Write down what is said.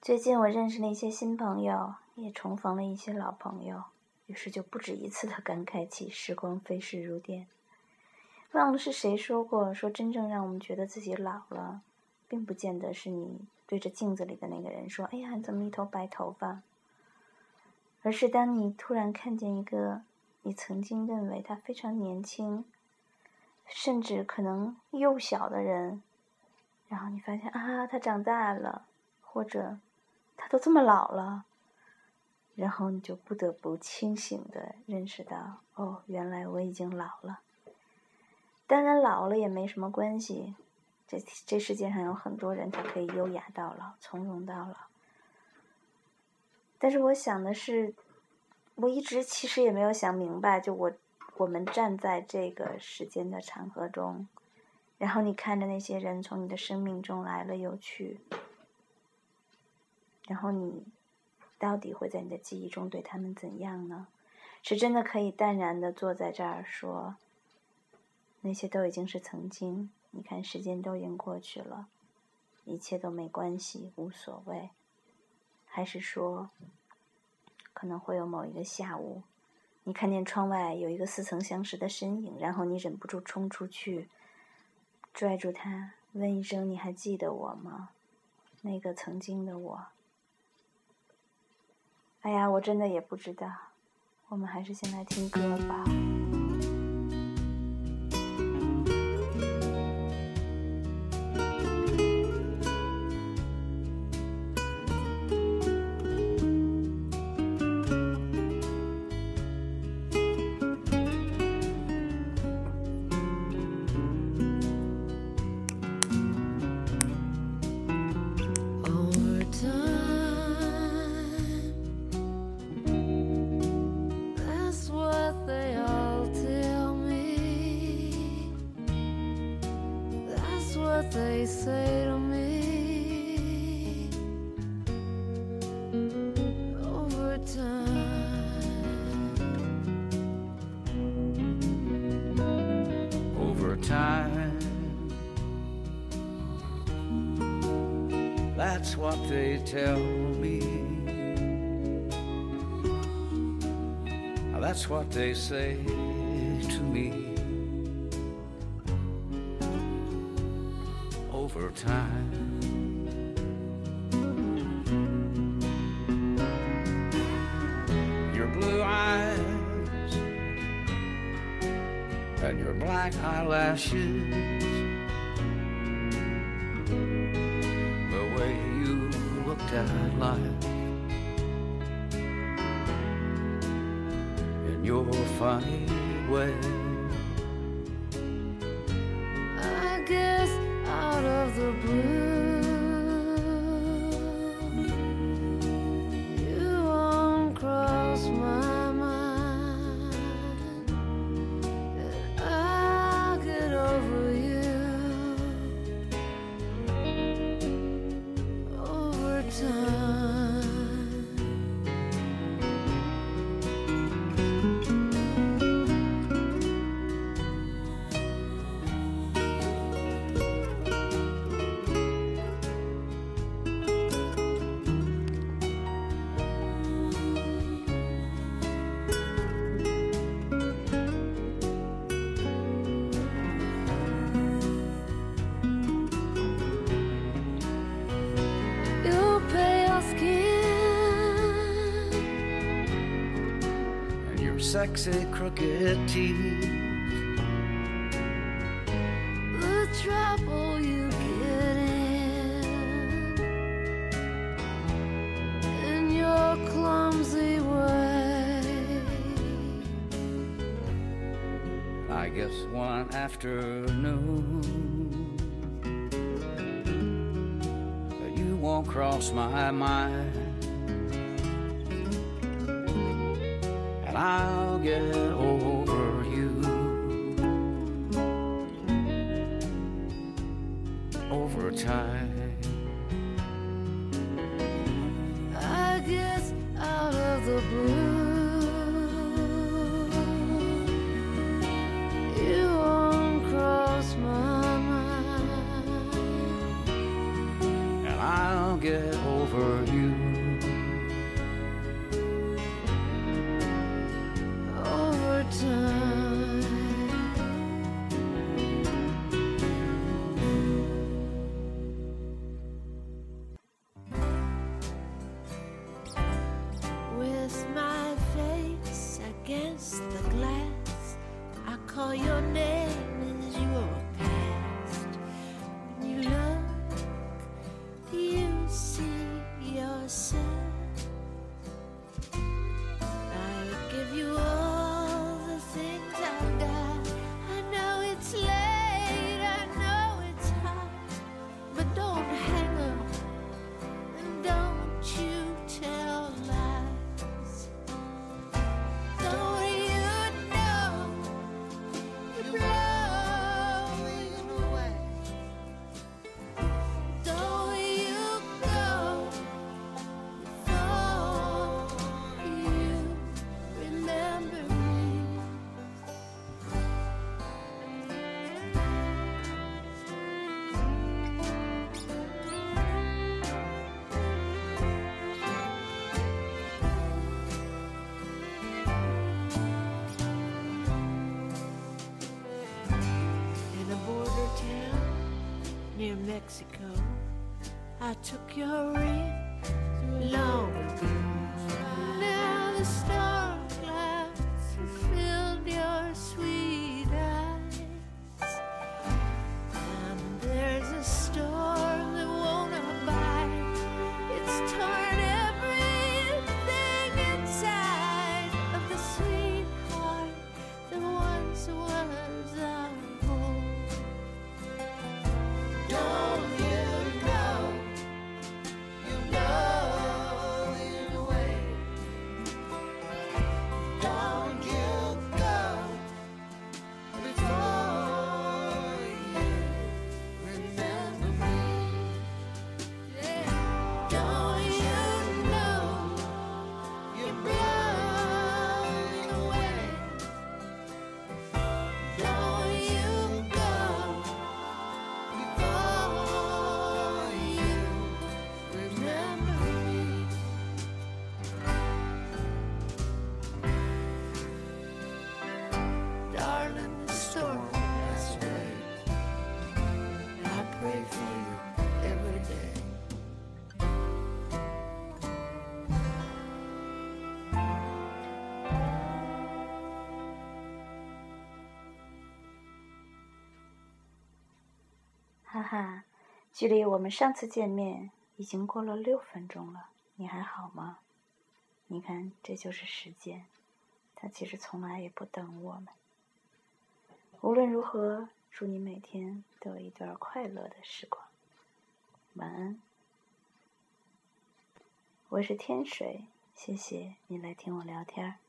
最近我认识了一些新朋友，也重逢了一些老朋友，于是就不止一次地感慨起时光飞逝如电。忘了是谁说过，说真正让我们觉得自己老了，并不见得是你对着镜子里的那个人说，哎呀，你怎么一头白头发，而是当你突然看见一个你曾经认为他非常年轻，甚至可能幼小的人，然后你发现啊，他长大了，或者他都这么老了，然后你就不得不清醒地认识到，哦，原来我已经老了。当然老了也没什么关系，这世界上有很多人他可以优雅到老，从容到老。但是我想的是，我一直其实也没有想明白，就我们站在这个时间的长河中，然后你看着那些人从你的生命中来了又去，然后你到底会在你的记忆中对他们怎样呢？是真的可以淡然地坐在这儿说，那些都已经是曾经，你看时间都已经过去了，一切都没关系，无所谓。还是说，可能会有某一个下午，你看见窗外有一个似曾相识的身影，然后你忍不住冲出去，拽住他，问一声，你还记得我吗？那个曾经的我。哎呀，我真的也不知道，我们还是先来听歌吧。 They say to me over time, that's what they tell me, that's what they say to me. Over time, your blue eyes and your black eyelashes, the way you looked at life, in your funny way, I guess out of the blue, you won't cross my mind, and I'll get over you over time. Sexy crooked teeth, the trouble you get in your clumsy way. I guess one afternoon you won't cross my mind, and I'll get over you over time. I guess out of the blue, you won't cross my mind, and I'll get over you. Over time, with my face against the glass, I call your name as your past. When you look, you see yourself. I give you all the things I've got. I know it's late, I know it's hot, but don't hang up and don't you tell lies. Don't you know you're blowing away? Don't you go before you remember me. In a border town near Mexico, I took your ring long ago. Now the storm clouds have filled your sweet eyes, and there's a storm that won't abide. It's torn everything inside of the sweetheart that once was our home. Don't you know you're blowing away? Don't you go before you remember me. Don't you know you're blowing away? Don't you go before you remember me. Darling, the storm has away. I pray for you every day. 哈哈，距离我们上次见面已经过了6分钟了，你还好吗？你看，这就是时间，它其实从来也不等我们。无论如何，祝你每天都有一段快乐的时光。晚安。我是天水，谢谢你来听我聊天。